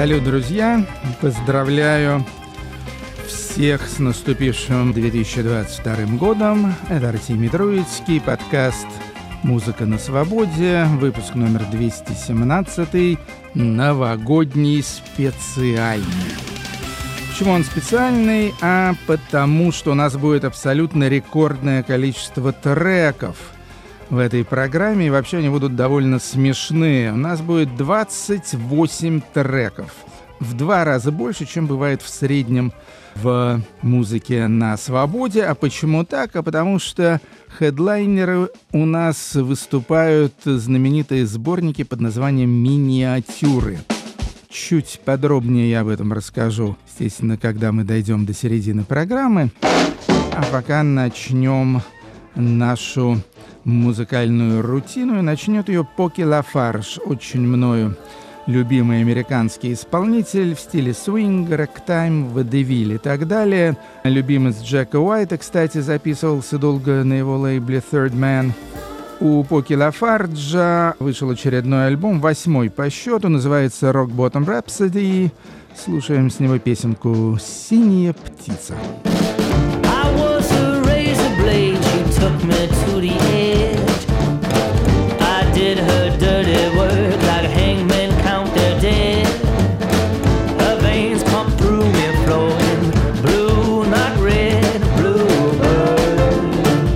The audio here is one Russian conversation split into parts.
Салют, друзья! Поздравляю всех с наступившим 2022 годом. Это Артемий Троицкий, подкаст «Музыка на свободе», выпуск номер 217, новогодний специальный. Почему он специальный? Потому что у нас будет абсолютно рекордное количество треков в этой программе, и вообще они будут довольно смешные. У нас будет 28 треков. В 2 раза больше, чем бывает в среднем в музыке на свободе. А почему так? Потому что хедлайнеры у нас выступают знаменитые сборники под названием «Миниатюры». Чуть подробнее я об этом расскажу, естественно, когда мы дойдем до середины программы. А пока начнем нашу музыкальную рутину, и начнет ее Поки Лафарж, очень мною любимый американский исполнитель в стиле свинг, рэктайм, водевиль и так далее. Любимец Джека Уайта, кстати, записывался долго на его лейбле Third Man. У Поки Лафарджа вышел очередной альбом, 8-й по счету, называется Rock Bottom Rhapsody. Слушаем с него песенку «Синяя птица». Took me to the edge. I did her dirty work like a hangman count their dead. Her veins pump through me, flowing blue, not red, bluebird.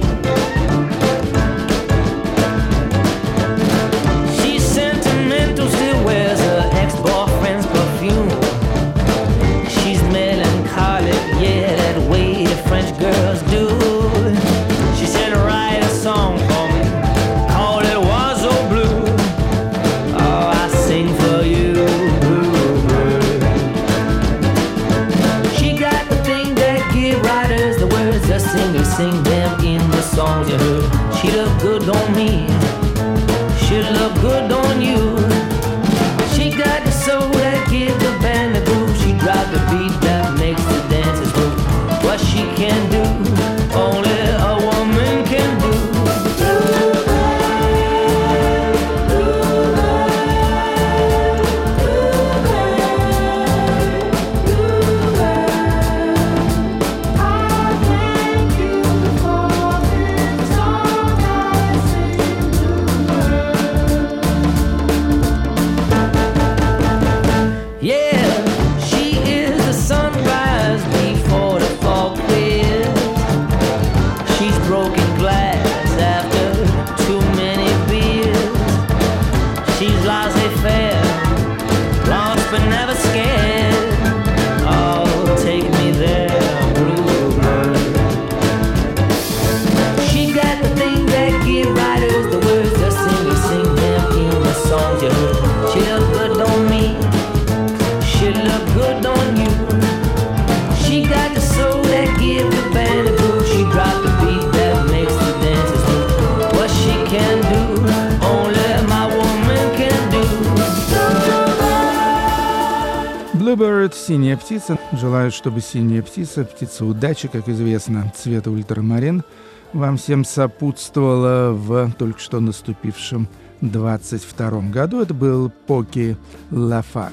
She's sentimental, still wears her ex-boyfriend's perfume. She's melancholic, yeah, that way the French girls do. Song for me, call it Wazo Blue. Oh, I sing for you, bluebird. She got the thing that give writers the words, the singers sing them in the songs you heard. She look good on me, she look good on you. She got the soul that give the band the groove. She dropped the beat that makes the dancers move. What she can do, only a woman can do. Bluebird, «Синяя птица». Желаю, чтобы синяя птица, птица удачи, как известно, цвета ультрамарин, вам всем сопутствовала в только что наступившем 22 году. Это был Поки Лафарж.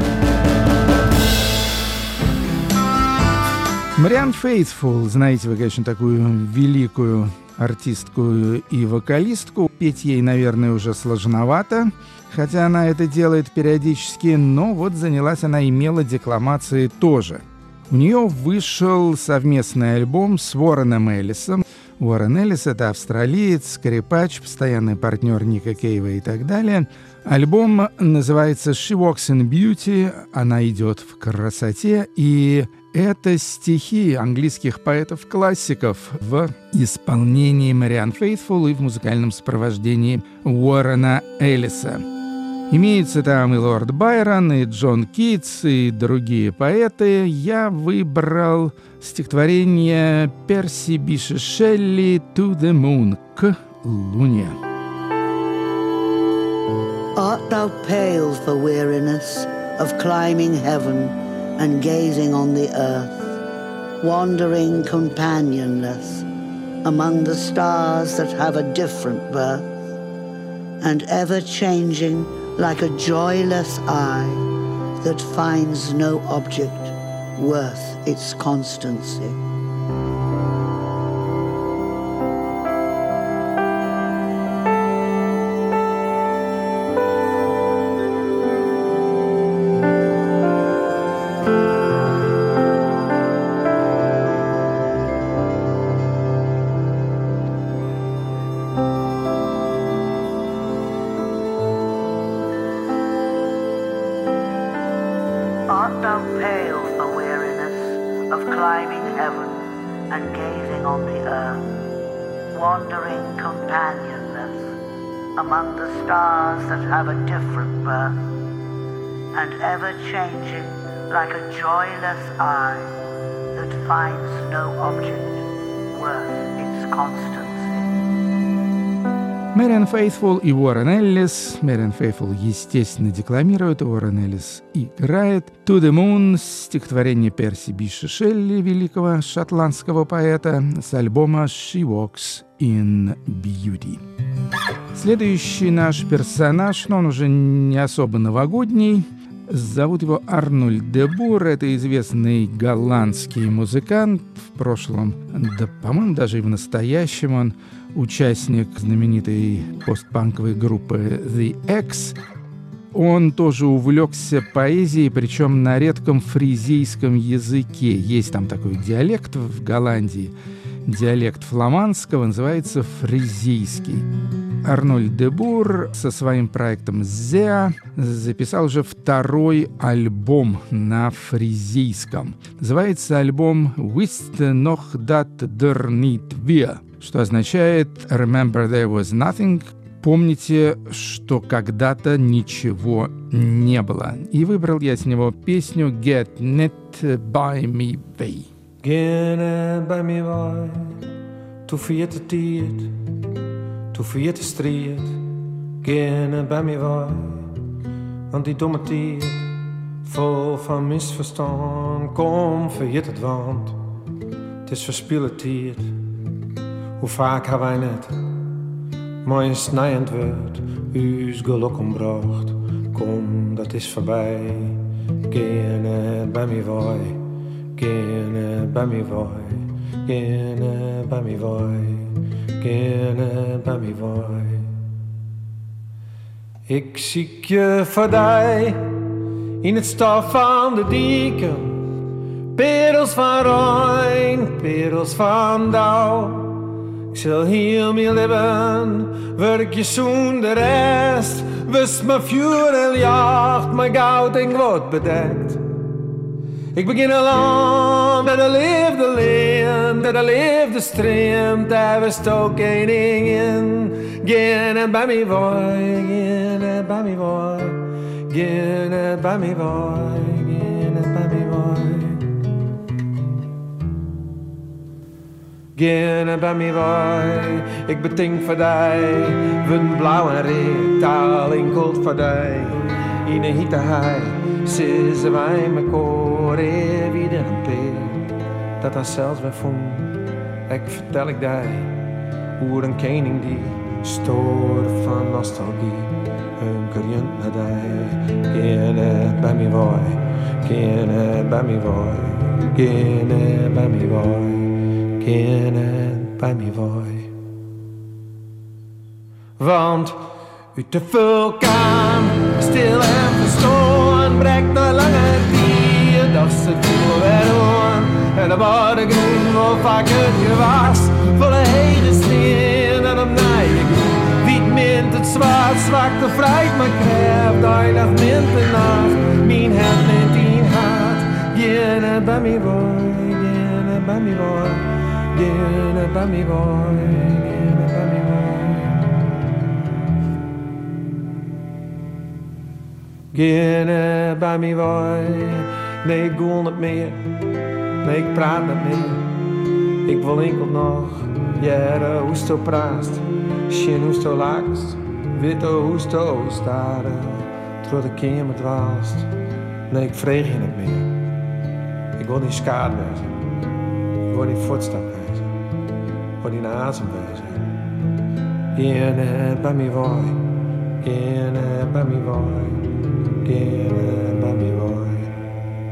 Мариан Фейтфул, знаете вы, конечно, такую великую артистку и вокалистку. Петь ей, наверное, уже сложновато, хотя она это делает периодически, но вот занялась она и мелодекламацией тоже. У нее вышел совместный альбом с Уорреном Эллисом. Уоррен Эллис — это австралиец, скрипач, постоянный партнер Ника Кейва и так далее. Альбом называется «She Walks in Beauty», она идет в красоте, и это стихи английских поэтов-классиков в исполнении Мариан Фейтфул и в музыкальном сопровождении Уоррена Эллиса. Имеются там и Лорд Байрон, и Джон Китс, и другие поэты. Я выбрал стихотворение Перси Bysshe Shelley «To the Moon» — «К луне». Art thou pale for weariness of climbing heaven and gazing on the earth, wandering companionless among the stars that have a different birth, and ever changing like a joyless eye that finds no object worth its constancy. Art thou pale for weariness of climbing heaven and gazing on the earth, wandering companionless among the stars that have a different birth, and ever changing like a joyless eye that finds no object worth its constancy? Мэриан Фейтфул и Уоррен Эллис. Мэриан Фейтфул, естественно, декламирует, Уоррен Эллис играет. «To the Moon» — стихотворение Перси Биши Шелли, великого шотландского поэта, с альбома «She Walks in Beauty». Следующий наш персонаж, но он уже не особо новогодний. Зовут его Арнольд де Бур. Это известный голландский музыкант. В прошлом, да, по-моему, даже и в настоящем он участник знаменитой постпанковой группы The X. Он тоже увлекся поэзией, причем на редком фризийском языке. Есть там такой диалект в Голландии. Диалект фламандского называется фризийский. Арнольд де Бур со своим проектом «Зеа» записал уже второй альбом на фризийском. Называется альбом «Wist noch dat der niet weer», что означает «Remember there was nothing», «Помните, что когда-то ничего не было». И выбрал я с него песню «Get Net By Me Way». Get net by me way, toe vierte tijd, toe vierte strijd. Get net by me way, want die domme tijd, vol van misverstand. Kom, vergeet het, want het is verspilde tijd. Hoe vaak hebben wij net, mooi snijend wordt, uw geluk ombracht. Kom, dat is voorbij. Get net by me way. Get net by me way, get net by me way, get net by me way. Ik zie je voorbij in het stof van de dieken, perels van rein, perels van dauw. Ik zal heel mijn leven werk je zoen de rest, wist mijn vuur en jacht, mijn goud en wat bedekt. Ik begin een land dat de liefde leent, dat de liefde streamt, daar was ook een ding in. Get net by me boy, get net by me boy, get net by me boy, get net by me boy. Get net by me boy, ik betink voor die, wund blauw en red, taal in gold voor die, in een hitte hei. Ze wij me koren weer een peer, dat hij zelfs weer vond. Ik vertel ik die, hoe een koning die stoor van nostalgie, een kerjent naar die. Get net by me boy, get net by me boy, get net by me boy, get net by me boy. Want uit de vulkaan, stil en verstoord, breekt de lange dier, dat ze voelen weer aan. En de bodem groen, hoe vaak het gewas, volle hege sneeuw en op naaie groen. Wiet mint het zwart, zwakte vrijt mijn kracht, heilig mint de nacht, mijn hart mint in hart. Get net by me boy, get net by me boy, get net by me boy, get net by me boy. Get net by me boy, nee ik wil niet meer, nee ik praat niet meer. Ik wil enkel nog, jaren hoe sto praat, schien hoe sto laakst, witte hoe sto staren, terwijl de kamer dwaalst. Nee ik vreeg je niet meer, ik wil niet skaad wezen, ik wil niet voetstap wezen, ik wil niet naar azem wezen. Get net by me boy, get net by me boy. Get net by me boy.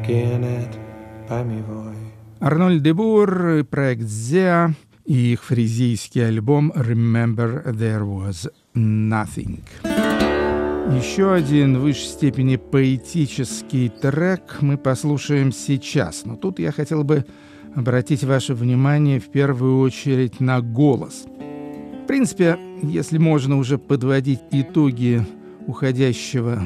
genet bij me wou. Арнольд де Бур, проект «Зеа» и их фризийский альбом «Remember There Was Nothing». Еще один в высшей степени поэтический трек мы послушаем сейчас. Но тут я хотел бы обратить ваше внимание в первую очередь на голос. В принципе, если можно уже подводить итоги ушедшего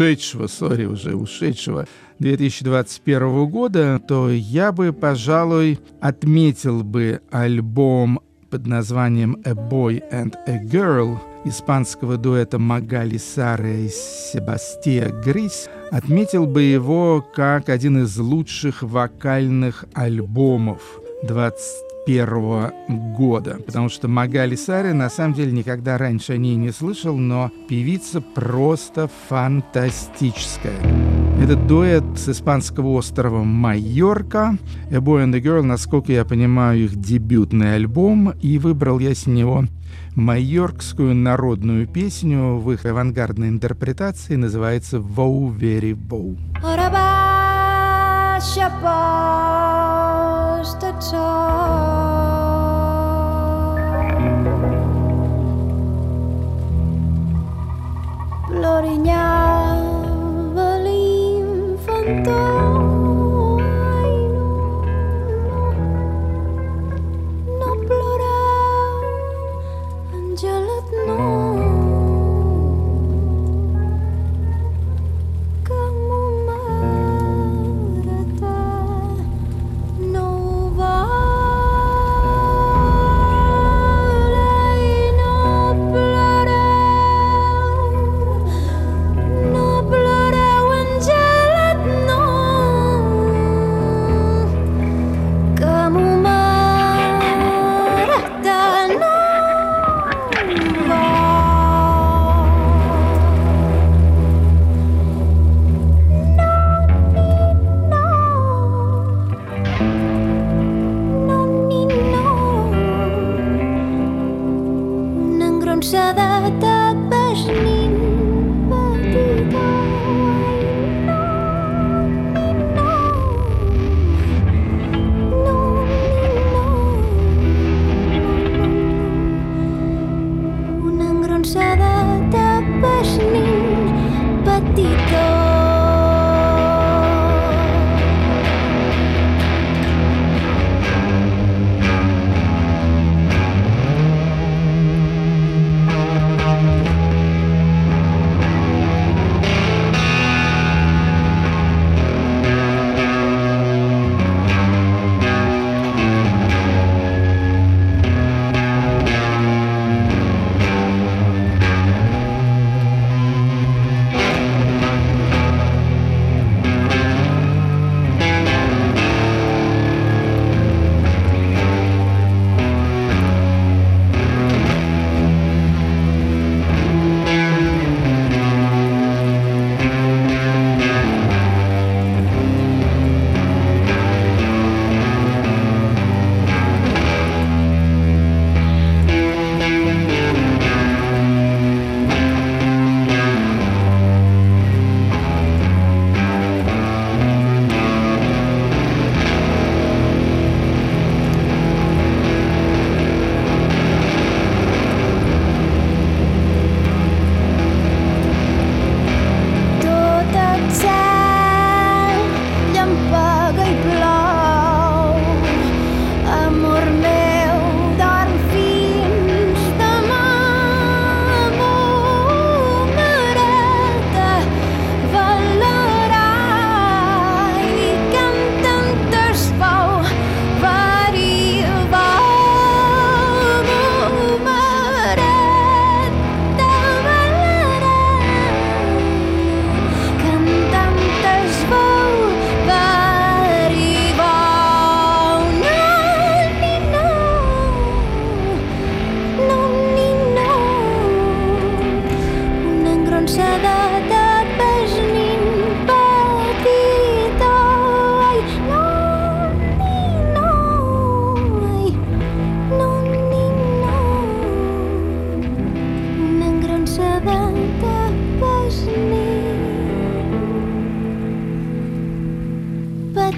2021 года, то я бы, пожалуй, отметил бы альбом под названием «A Boy and a Girl» испанского дуэта Магали Сара и Себастья Грис, отметил бы его как один из лучших вокальных альбомов 2021 года, потому что Магали Сари на самом деле никогда раньше о ней не слышал, но певица просто фантастическая. Этот дуэт с испанского острова Майорка. A Boy and a Girl, насколько я понимаю, их дебютный альбом, и выбрал я с него майоркскую народную песню в их авангардной интерпретации, называется «Vou Very Vou».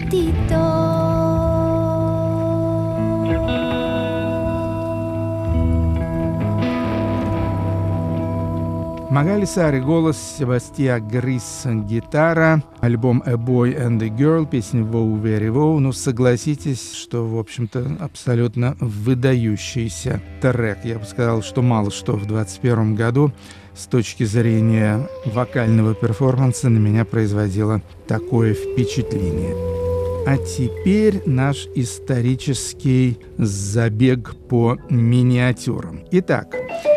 Магали Сари — голос, Себастьян Грис — гитара, альбом «A Boy and a Girl», песня «Wow Very Wow». Ну, согласитесь, что, в общем-то, абсолютно выдающийся трек. Я бы сказал, что мало что в 2021 году с точки зрения вокального перформанса на меня производило такое впечатление. А теперь наш исторический забег по миниатюрам. Итак,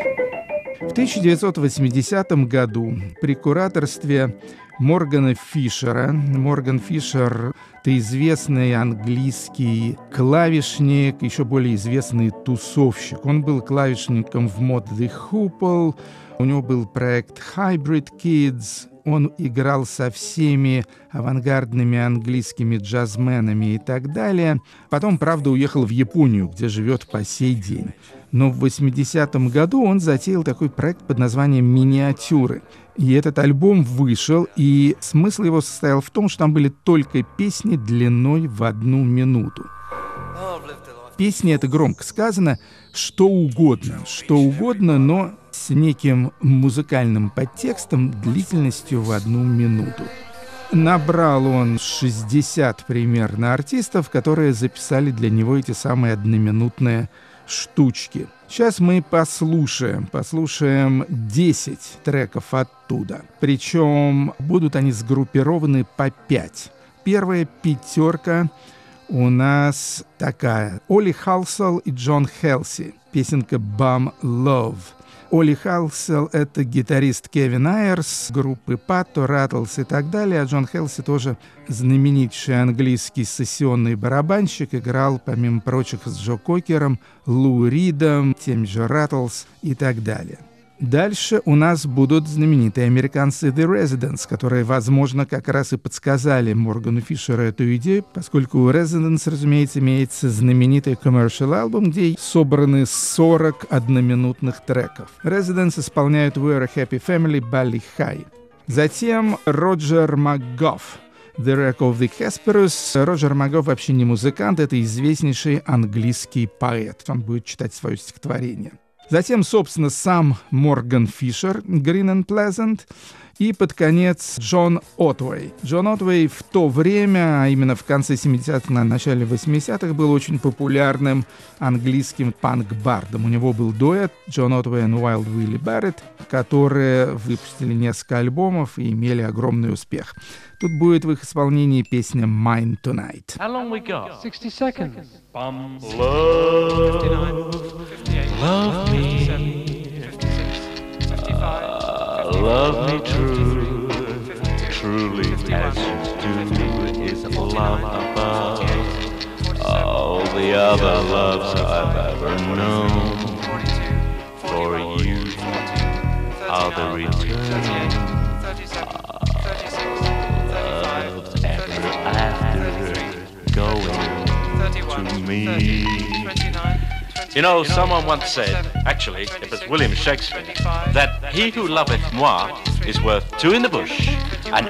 в 1980 году при кураторстве Моргана Фишера, Морган Фишер — это известный английский клавишник, еще более известный тусовщик. Он был клавишником в Mod The Hoople, у него был проект Hybrid Kids, он играл со всеми авангардными английскими джазменами и так далее. Потом, правда, уехал в Японию, где живет по сей день. Но в 80-м году он затеял такой проект под названием «Миниатюры». И этот альбом вышел, и смысл его состоял в том, что там были только песни длиной в 1 минуту. Песни — это громко сказано, что угодно, но с неким музыкальным подтекстом длительностью в 1 минуту. Набрал он 60 примерно артистов, которые записали для него эти самые одноминутные штучки. Сейчас мы послушаем 10 треков оттуда. Причем будут они сгруппированы по 5. Первая пятерка у нас такая. Оли Халсел и Джон Хелси. Песенка «Bum Love». Оли Халсел — это гитарист Кевин Айрс, группы Патто, Ратлс и так далее. А Джон Хелси тоже знаменитейший английский сессионный барабанщик. Играл, помимо прочих, с Джо Кокером, Лу Ридом, теми же Ратлс и так далее. Дальше у нас будут знаменитые американцы The Residents, которые, возможно, как раз и подсказали Моргану Фишеру эту идею, поскольку у Residents, разумеется, имеется знаменитый commercial альбом, где собраны 40 одноминутных треков. Residents исполняют We're a Happy Family, Bally High. Затем Роджер МакГофф, The Wreck of the Hesperus. Роджер МакГофф вообще не музыкант, это известнейший английский поэт. Он будет читать свое стихотворение. Затем, собственно, сам Морган Фишер, Green and Pleasant, и под конец Джон Отвей. Джон Отвей в то время, а именно в конце 70-х, на начале 80-х, был очень популярным английским панк-бардом. У него был дуэт Джон Отвей и Wild Willie Barrett, которые выпустили несколько альбомов и имели огромный успех. Тут будет в их исполнении песня «Mine Tonight». How long we got? 60 seconds. Bum love, 59, 58, love me, 57, 55, love me true, 52, truly 51, as you do is 59, love above 48, 47, all the other loves I've ever known. 42, For 41, you 42, are the 39, return 38, 37, 36, 35, loves ever 34, after 33, going 31, to me. 30, 29, You know, someone once said, actually, it was William Shakespeare, that he who loveth moi is worth two in the bush. And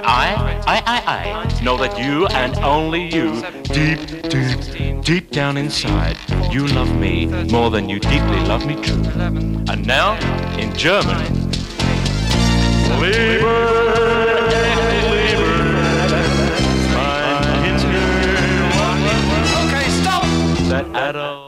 I know that you and only you, deep down inside, you love me more than you deeply love me true. And now, in German, Liebe, mein Himmel. Okay, stop! That adult.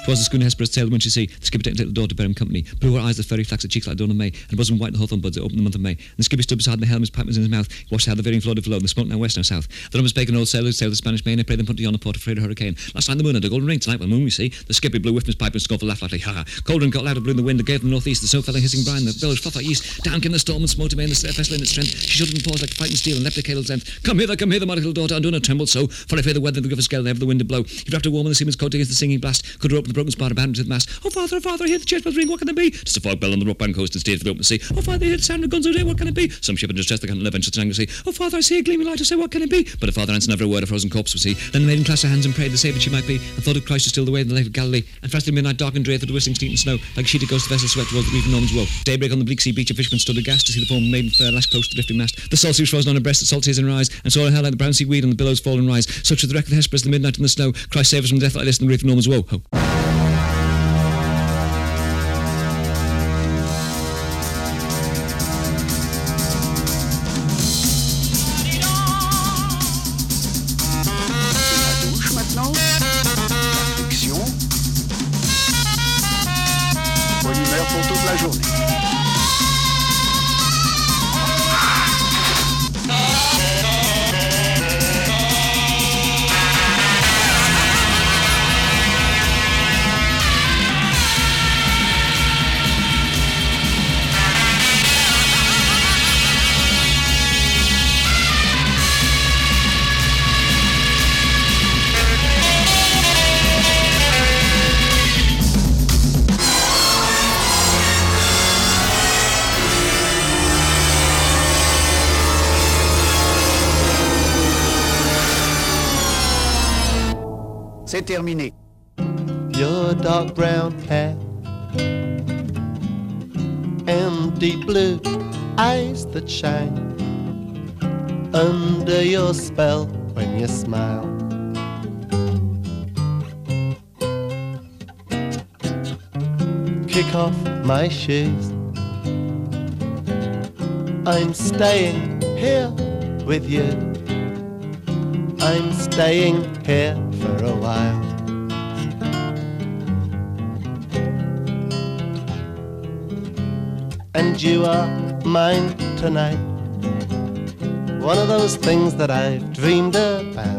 'Twas the schooner Hesperus sailed when she see the skipper taking little daughter to bear him company. Blue her eyes, the fairy flax, her cheeks like dawn of May, and bosom white the hawthorn buds that opened the month of May. And the skipper stood beside the helm, his pipe was in his mouth. He watched how the veering flowed below, and the smoke now west now south. The numbers bacon old sailors sailed the Spanish main, and prayed them put to yonder port afraid of hurricane. Last night the moon had a golden ring, tonight the moon we see. The skipper blew with his pipe and scoffed laughed lightly, ha ha. Cold and got louder blew in the wind, that gave them northeast. The snow fell in hissing brine, the billows fluff like yeast. Down came the storm and smote him in the vessel in its strength. She shuddered and paused like fighting steel and leapt her cable's length. Come hither, my little daughter, undo and tremble so. For I fear the weather, the river's gale, and ever the wind to blow. He wrapped her warm in the seaman's coat against the singing blast. Could her open the broken spar, abandoned to the mast. Oh father, I hear the church bells ring, what can it be? Just a fog bell on the rockbound coast and steered for the open sea. Oh father, I hear the sound of guns all day, what can it be? Some ship in distress that can't live venture to angle sea. Oh father, I see a gleaming light, I say, what can it be? But her father answered never a word, a frozen corpse was he. Then the maiden clasped her hands and prayed the saviour she might be, and thought of Christ to still the way in the lake of Galilee. And fast in midnight dark and drear through the whistling sleet and snow, like a sheeted ghost the vessel swept towards the reef of Norman's Woe. Daybreak on the bleak sea beach, a fisherman stood aghast to see the form of maiden fair lashed close to the lifting mast. The salt sea was frozen on her breast, the salt tears in her eyes, and saw her hair like the brown sea weed on the billows fall and rise. Such was the wreck of the Hesperus, the midnight in the snow. Christ save us from death like this in the reef of Norman's Woe. Ho. C'est terminé. Your dark brown hair and deep blue eyes that shine under your spell when you smile. Kick off my shoes. I'm staying here with you. I'm staying here for a while. And you are mine tonight. One of those things that I've dreamed about.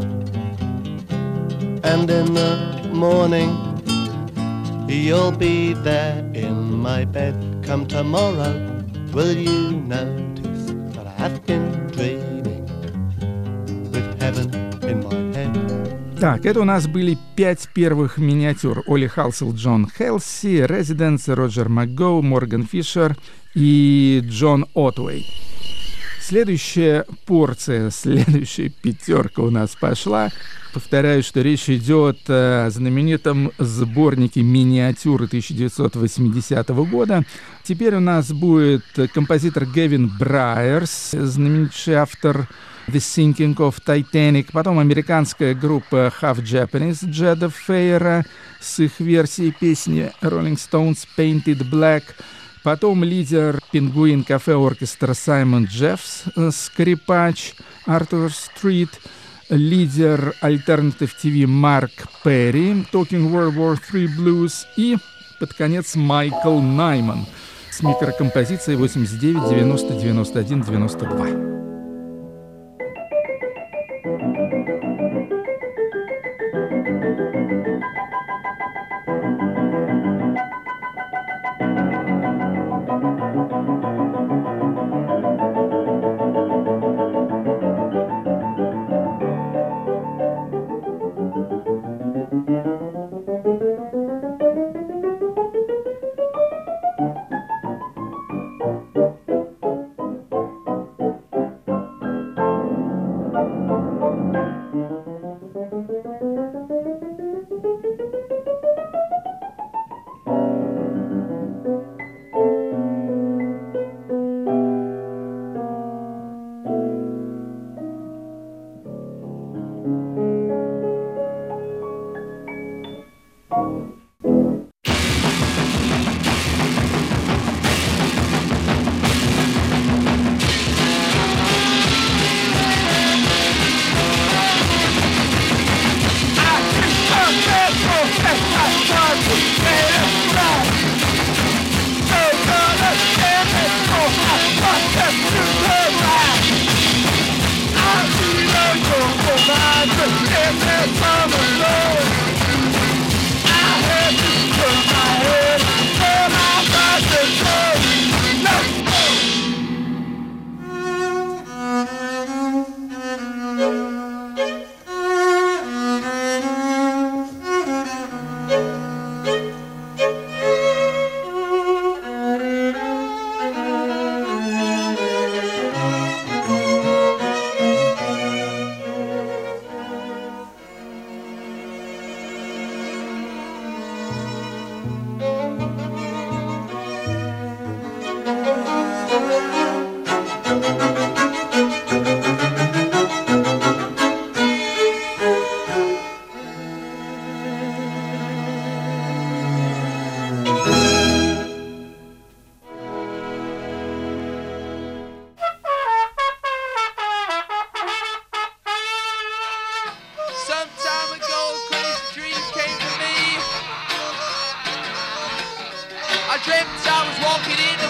And in the morning you'll be there in my bed. Come tomorrow, will you notice that I've been dreaming with heaven in my head? Так, это у нас были 5 первых миниатюр. Оли Халсел, Джон Хелси, Резиденс, Роджер МакГоу, Морган Фишер и Джон Отвей. Следующая порция, следующая пятерка у нас пошла. Повторяю, что речь идет о знаменитом сборнике миниатюры 1980 года. Теперь у нас будет композитор Гевин Брайерс, знаменитый автор The Sinking of Titanic. Потом американская группа Half Japanese Джеда Фейера с их версией песни Rolling Stones Painted Black. Потом лидер Пингвин Кафе оркестра Саймон Джеффс, скрипач Артур Стрит, лидер Alternative TV Марк Перри, Talking World War III Blues и, под конец, Майкл Найман с микрокомпозицией 89, 90, 91, 92.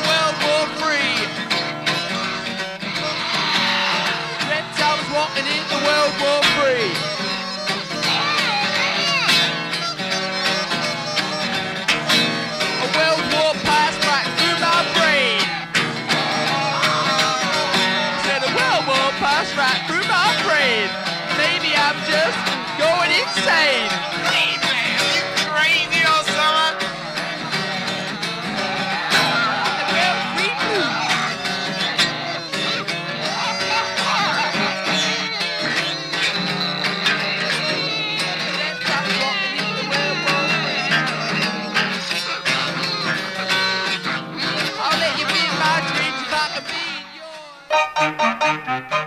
World War III. Reptiles walking into World War III. A World War passed right through my brain. Said a World War passed right through my brain. Maybe I'm just going insane. Hey man, you crazy or something? Well, we do. I'll let you be in my dreams if I can be in yours.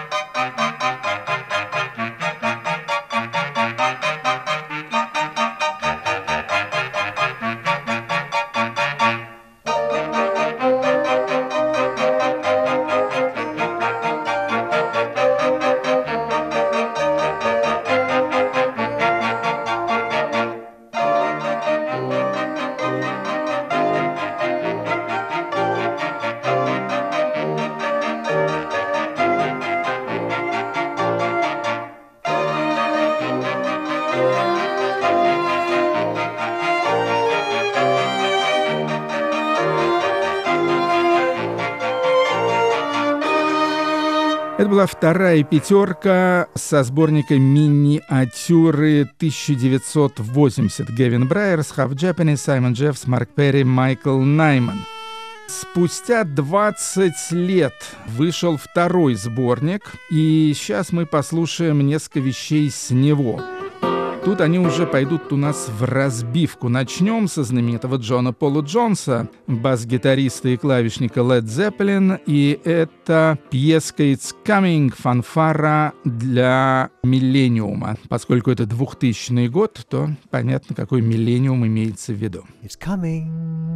Это была вторая пятерка со сборника миниатюры 1980. Гевин Брайерс, Half Japanese, Саймон Джеффс, Марк Перри, Майкл Найман. Спустя 20 лет вышел второй сборник, и сейчас мы послушаем несколько вещей с него. Тут они уже пойдут у нас в разбивку. Начнем со знаменитого Джона Пола Джонса, бас-гитариста и клавишника Led Zeppelin, и это пьеска «It's Coming», фанфара для миллениума. Поскольку это 2000 год, то понятно, какой миллениум имеется в виду. It's coming.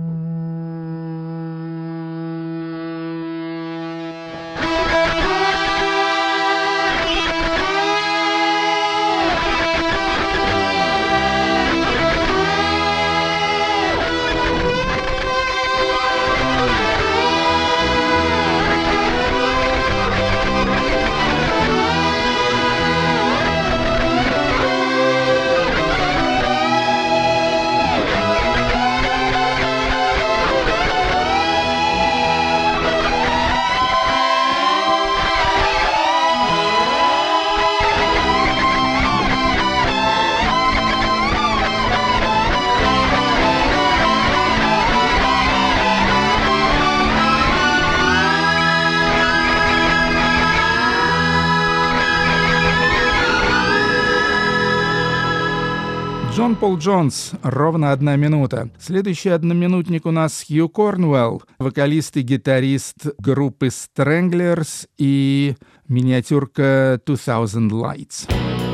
Джон Пол Джонс, ровно 1 минута. Следующий одноминутник у нас Хью Корнуэлл, вокалист и гитарист группы Stranglers, и миниатюрка 2000 Lights.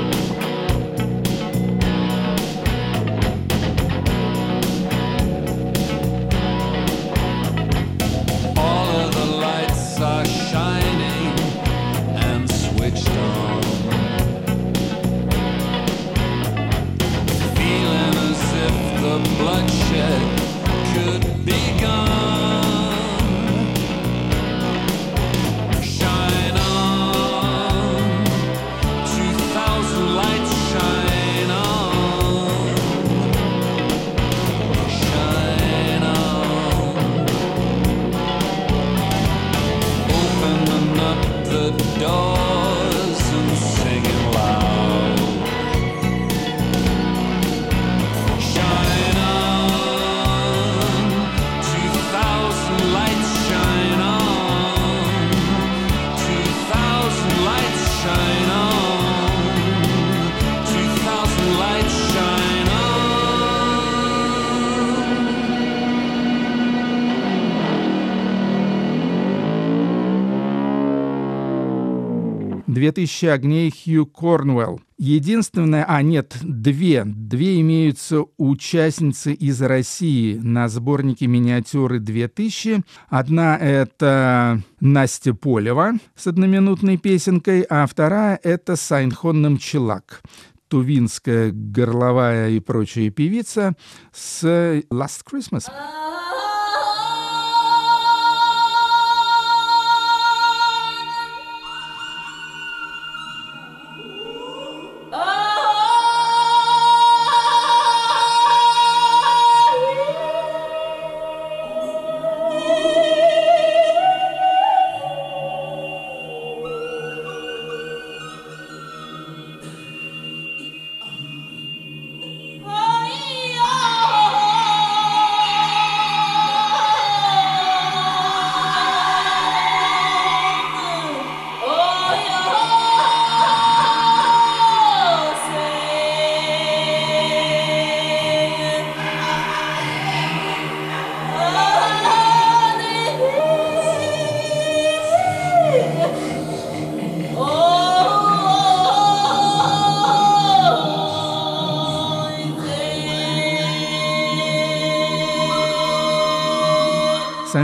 «2000 огней» Хью Корнуэлл. Единственное, две имеются участницы из России на сборнике миниатюры 2000. Одна — это Настя Полева с одноминутной песенкой, а вторая — это Сайнхон Намчилак, тувинская горловая и прочая певица с «Last Christmas».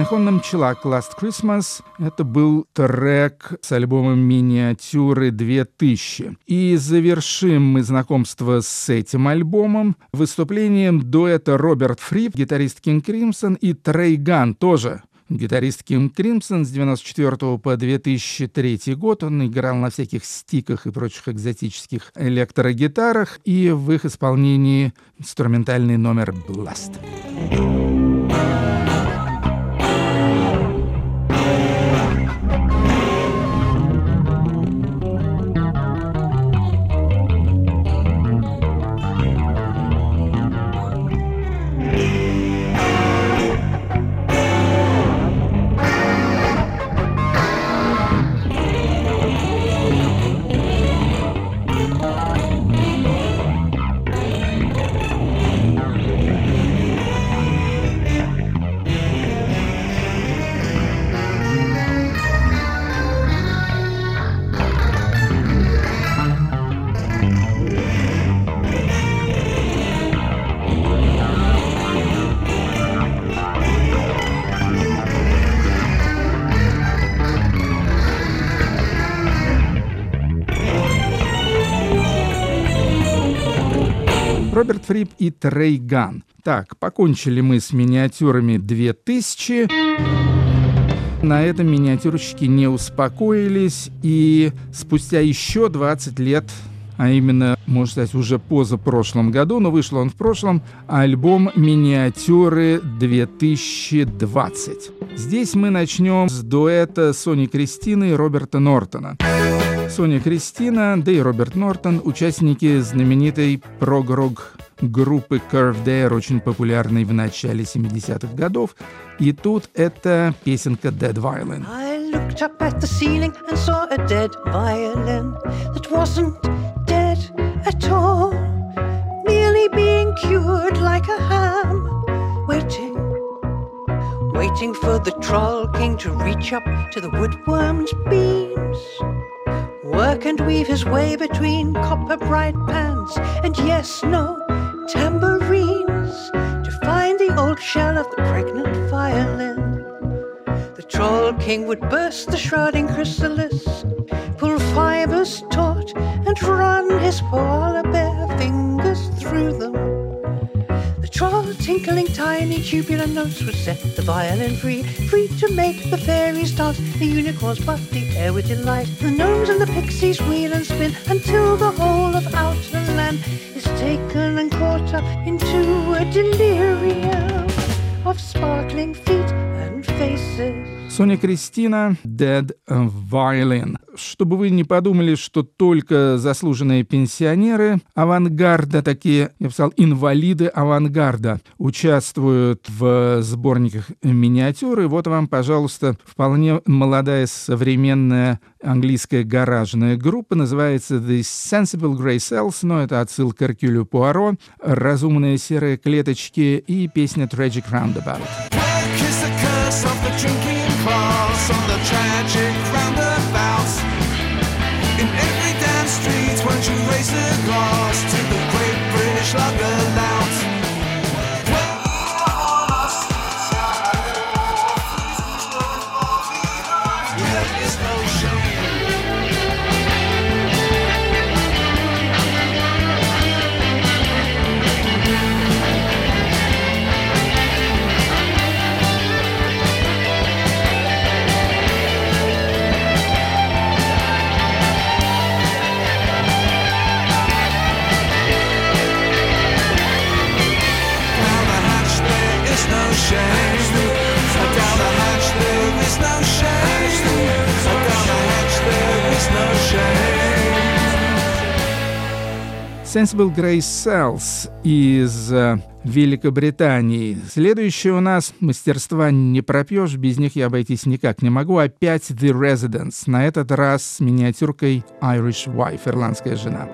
Айхон Челак Last Christmas — это был трек с альбомом «Миниатюры 2000». И завершим мы знакомство с этим альбомом выступлением дуэта Роберт Фрип, гитарист King Crimson, и Трей Ганн, тоже гитарист King Crimson, с 1994 по 2003 год. Он играл на всяких стиках и прочих экзотических электрогитарах, и в их исполнении инструментальный номер «Blast». Роберт Фрип и Трей Ганн. Так, покончили мы с миниатюрами 2000. На этом миниатюрщики не успокоились, и спустя еще 20 лет, а именно, можно сказать, уже позапрошлом году, но вышел он в прошлом, альбом «Миниатюры 2020». Здесь мы начнем с дуэта Сони Кристины и Роберта Нортона. Соня Кристина, да и Роберт Нортон — участники знаменитой прог-рок группы Curved Air, очень популярной в начале 70-х годов. И тут это песенка «Dead Violin». I looked up at the ceiling and saw a dead violin that wasn't dead at all, merely being cured like a ham, waiting for the Troll King to reach up to the woodworm's beams, work and weave his way between copper bright pans and yes, no tambourines to find the old shell of the pregnant violin. The Troll King would burst the shrouding chrysalis, pull fibers taut and run his polar bear fingers through them. The troll, tinkling tiny tubular notes, would set the violin free, free to make the fairies dance, the unicorns buff the air with delight, the gnomes and the pixies wheel and spin, until the whole of outer land is taken and caught up into a delirium of sparkling feet and faces. Соня Кристина, Dead Violin. Чтобы вы не подумали, что только заслуженные пенсионеры авангарда, такие, я бы сказал, инвалиды авангарда, участвуют в сборниках миниатюры. Вот вам, пожалуйста, вполне молодая современная английская гаражная группа. Называется The Sensible Grey Cells, но это отсылка к Эркюлю Пуаро, «Разумные серые клеточки» и песня Tragic Roundabout. Of the drinking class on the tragic roundabouts. In every damn street, won't you raise a glass to the great British lager louts? There is no shame. Sensible Grey Cells из Великобритании. Следующее у нас мастерства не пропьешь, без них я обойтись никак не могу. Опять The Residents, на этот раз с миниатюркой Irish Wife, ирландская жена.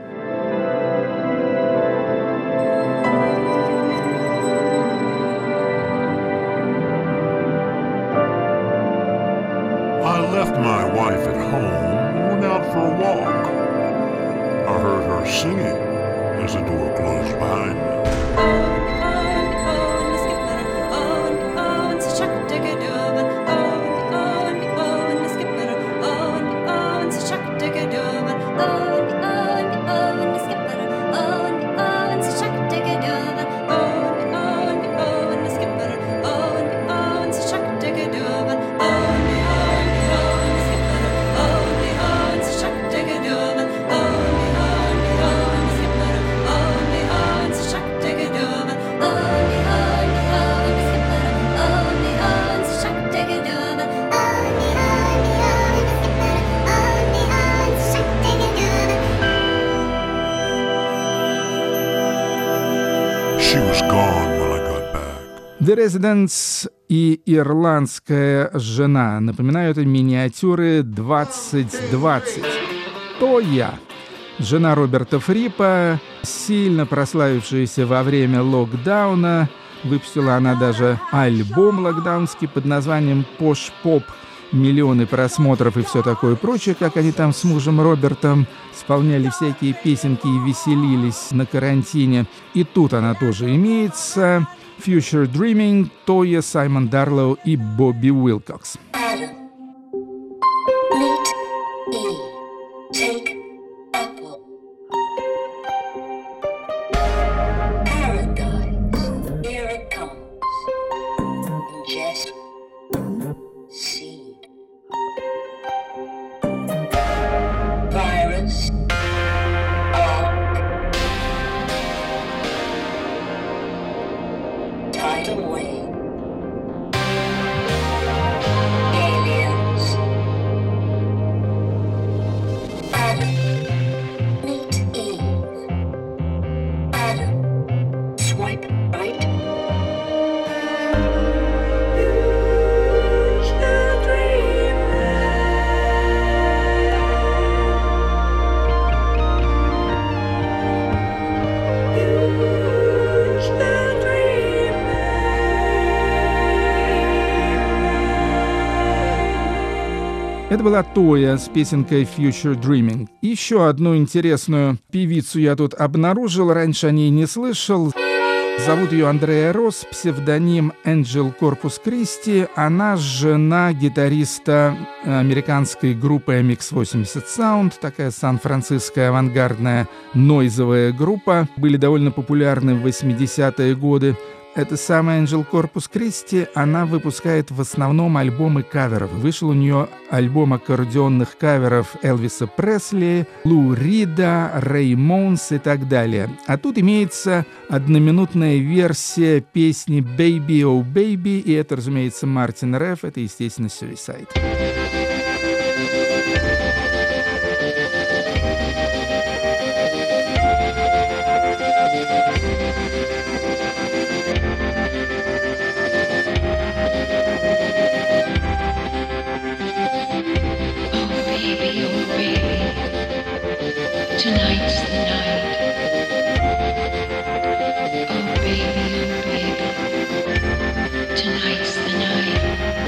I left my wife at home and went out for a walk. I heard her singing as the door closed behind me. The Residents и «Ирландская жена» напоминают миниатюры 2020. То я. Жена Роберта Фрипа, сильно прославившаяся во время локдауна. Выпустила она даже альбом локдаунский под названием «Пош Поп». Миллионы просмотров и все такое прочее, как они там с мужем Робертом исполняли всякие песенки и веселились на карантине. И тут она тоже имеется. Future Dreaming, Тоя, Саймон Дарлоу и Бобби Уилкокс. Это была Тоя с песенкой «Future Dreaming». Еще одну интересную певицу я тут обнаружил, раньше о ней не слышал. Зовут ее Андреа Росс, псевдоним Энджел Корпус Кристи. Она жена гитариста американской группы MX-80 Sound, такая сан-франциская авангардная нойзовая группа. Были довольно популярны в 80-е годы. Эта самая Энджел Корпус Кристи, она выпускает в основном альбомы каверов. Вышел у нее альбом аккордеонных каверов Элвиса Пресли, Лу Рида, Рэй Монс и так далее. А тут имеется одноминутная версия песни «Baby, oh Baby», и это, разумеется, Мартин Реф, это, естественно, Suicide. Tonight's the night. Oh baby, tonight's the night.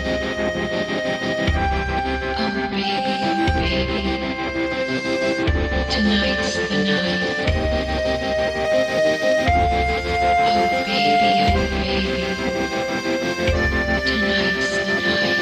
Oh baby, tonight's the night. Oh baby, tonight's the night.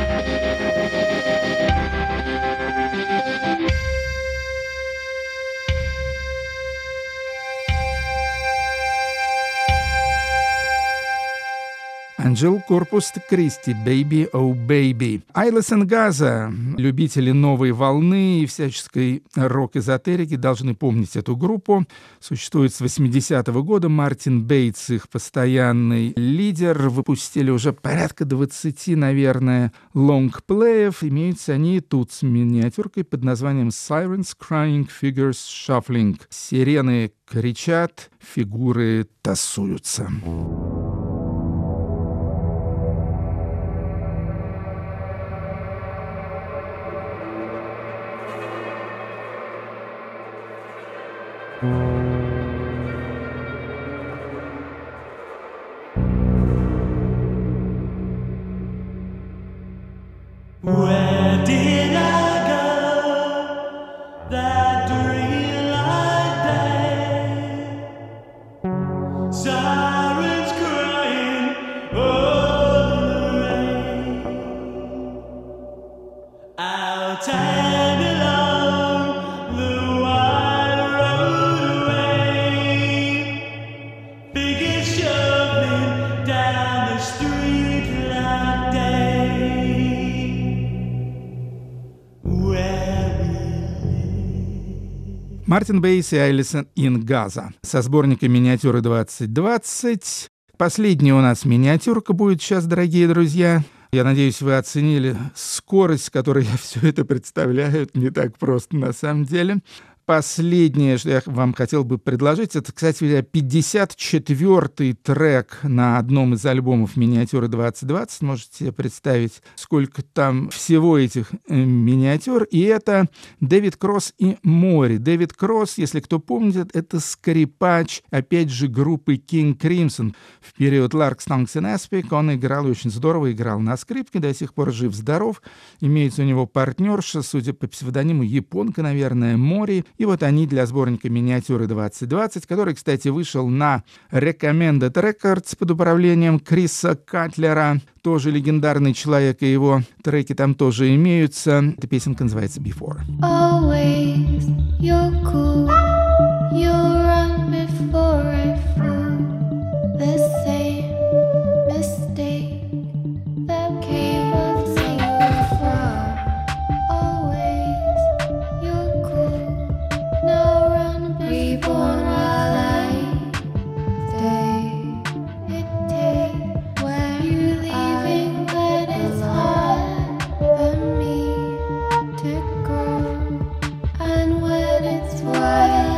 Энджел Корпус Кристи, «Baby, oh Baby». Айлес энд Газа, любители новой волны и всяческой рок-эзотерики, должны помнить эту группу. Существует с 80-го года. Мартин Бейтс, их постоянный лидер. Выпустили уже порядка 20, наверное, лонгплеев. Имеются они тут с миниатюркой под названием «Sirens Crying, Figures Shuffling». Сирены кричат, фигуры тасуются. Where did I go that dream like day? Sirens crying over the rain. Out and along the wide road away, figures shuffling down the street like day. Мартин Бейс и Айлес энд Газа со сборника «Миниатюры 2020». Последняя у нас миниатюрка будет сейчас, дорогие друзья. Я надеюсь, вы оценили скорость, с которой я все это представляю. Это не так просто на самом деле. последнее, что я вам хотел бы предложить, это, кстати, 54-й трек на одном из альбомов «Миниатюры 2020». Можете себе представить, сколько там всего этих миниатюр. И это Дэвид Кросс и Мори. Дэвид Кросс, если кто помнит, это скрипач, опять же, группы King Crimson. В период Lark, Stonks and Aspic он играл очень здорово, играл на скрипке, до сих пор жив-здоров. Имеется у него партнерша, судя по псевдониму, японка, наверное, Мори. И вот они для сборника «Миниатюры 2020», который, кстати, вышел на Recommended Records под управлением Криса Катлера. Тоже легендарный человек, и его треки там тоже имеются. Эта песенка называется «Before». Always you're cool. You run before I flew. The same mistake that came up so far. Always you're cool. Now run before while I stay. It takes where you leaving when it's hard for me to grow, and when it's twilight.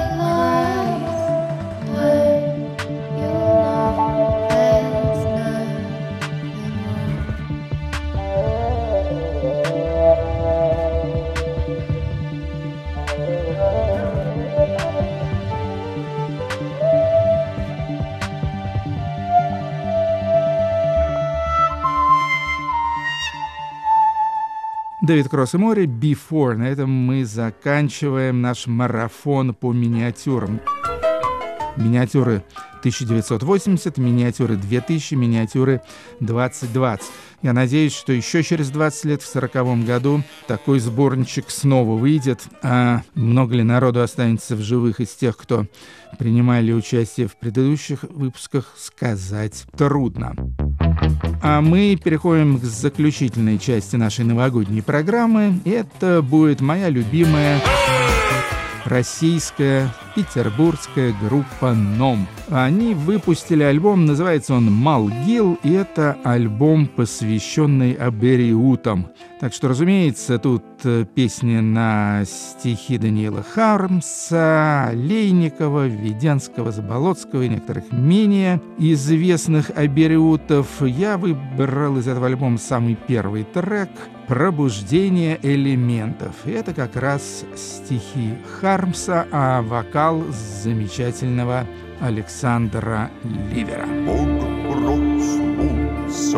Дэвид Кросс и Мори, «Before». На этом мы заканчиваем наш марафон по миниатюрам. Миниатюры 1980, миниатюры 2000, миниатюры 2020. Я надеюсь, что еще через 20 лет, в 40-м году, такой сборничек снова выйдет. А много ли народу останется в живых из тех, кто принимали участие в предыдущих выпусках, сказать трудно. А мы переходим к заключительной части нашей новогодней программы. Это будет моя любимая российская петербургская группа «Ном». Они выпустили альбом, называется он «Малгил», и это альбом, посвященный абериутам. Так что, разумеется, тут песни на стихи Даниила Хармса, Олейникова, Введенского, Заболоцкого и некоторых менее известных абериутов. Я выбрал из этого альбома самый первый трек «Пробуждение элементов». И это как раз стихи Хармса, а вокал замечательного Александра Ливера. Бог проснулся,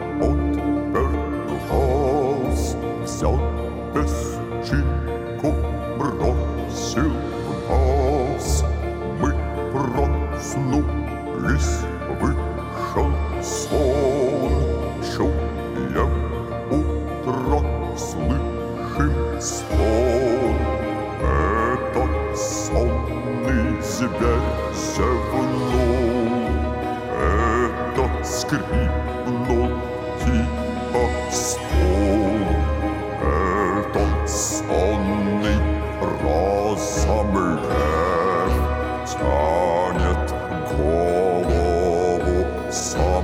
отвернулся, взял песчинку, бросил в нас. Мы проснулись, вышел сон, чуем утро, слышим стон. Этот сонный зверь зевнул, этот скрипнул типа стул, этот сонный разом лев тянет голову сам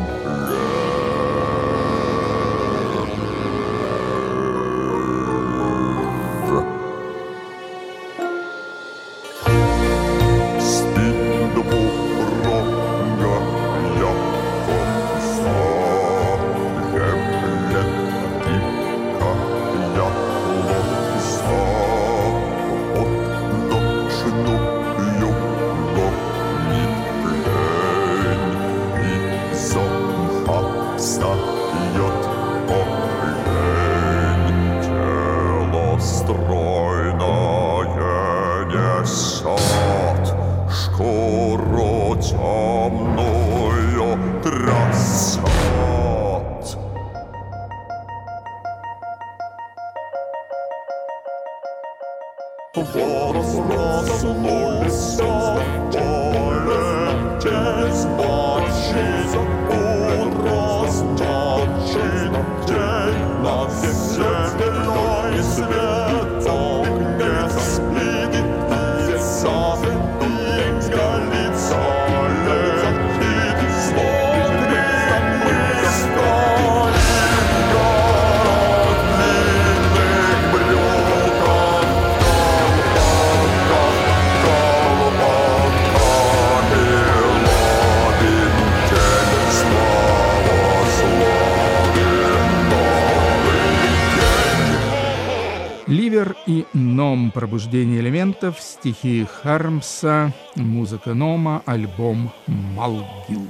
Ливер и Ном. Пробуждение элементов. Стихи Хармса. Музыка Нома. Альбом «Малгил».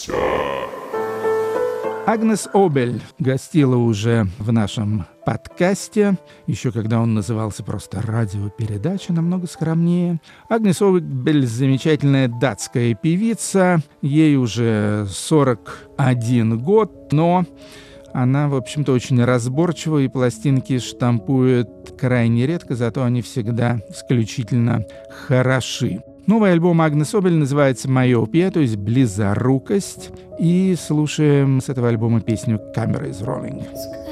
Агнес Обель гостила уже в нашем подкасте, еще когда он назывался просто «Радиопередача», намного скромнее. Агнес Обель — замечательная датская певица, ей уже 41 год, но она, в общем-то, очень разборчива, и пластинки штампует крайне редко, зато они всегда исключительно хороши. Новый альбом Агнес Обель называется «Майопия», то есть «Близорукость». И слушаем с этого альбома песню «Camera is Rolling».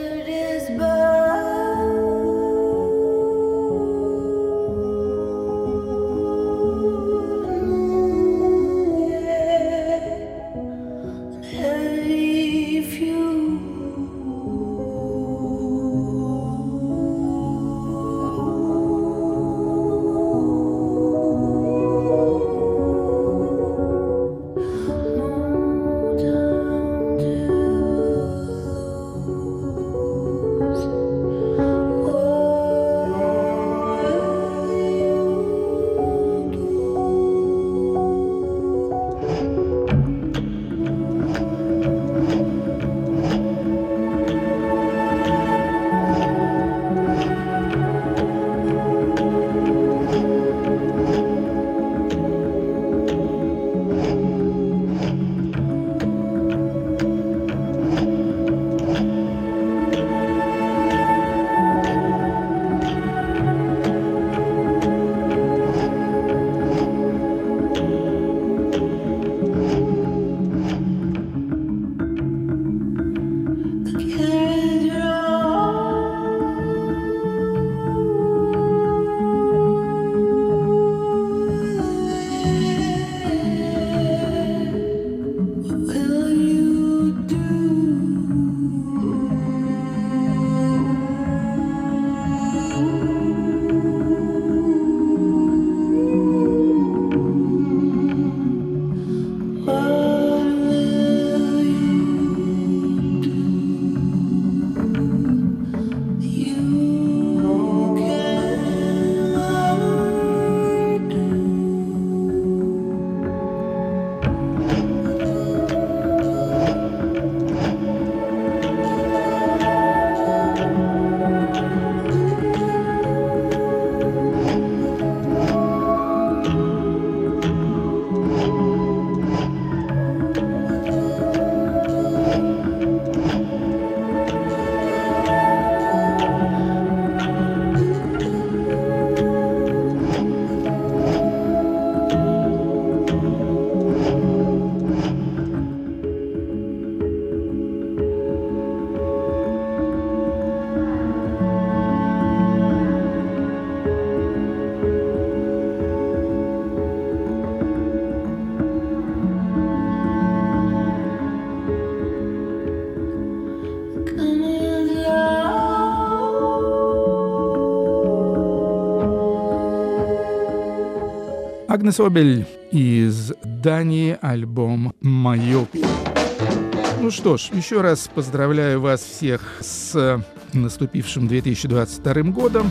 Агнес Обель из Дании, альбом «Майопия». Ну что ж, еще раз поздравляю вас всех с наступившим 2022 годом.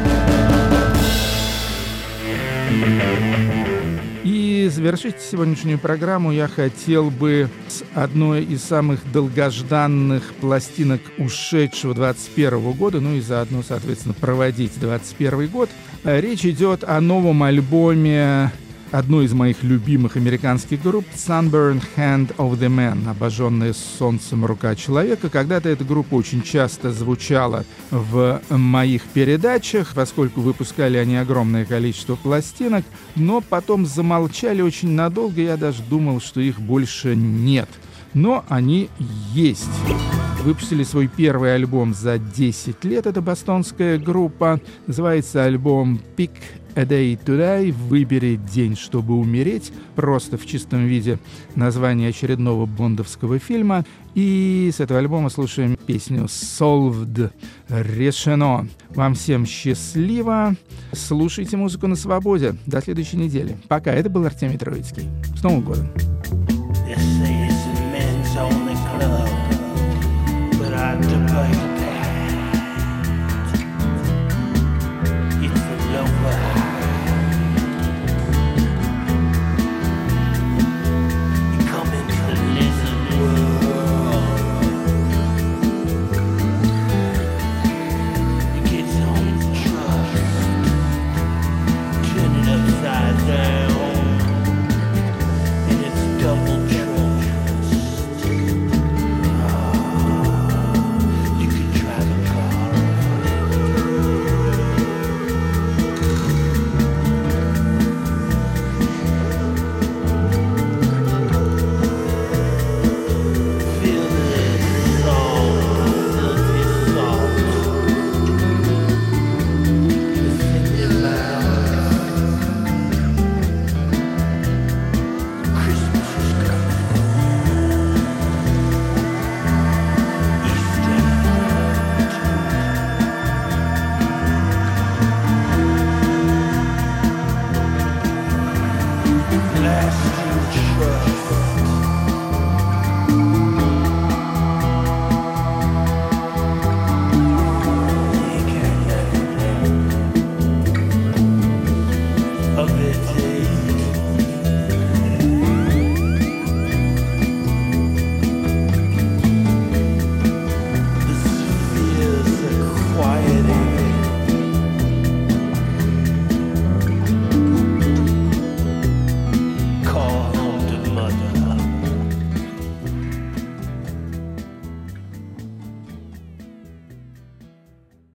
И завершить сегодняшнюю программу я хотел бы с одной из самых долгожданных пластинок ушедшего 2021 года, ну и заодно, соответственно, проводить 2021 год. Речь идет о новом альбоме одной из моих любимых американских групп Sunburned Hand of the Man, обожженная солнцем рука человека. Когда-то эта группа очень часто звучала в моих передачах, поскольку выпускали они огромное количество пластинок, но потом замолчали очень надолго, я даже думал, что их больше нет. Но они есть. Выпустили свой первый альбом за 10 лет, это бостонская группа. Называется альбом «Pick a Day to Die», «Выбери день, чтобы умереть», просто в чистом виде название очередного бондовского фильма. И с этого альбома слушаем песню «Solved», «Решено». Вам всем счастливо, слушайте музыку на свободе. До следующей недели. Пока, это был Артемий Троицкий. С Новым годом!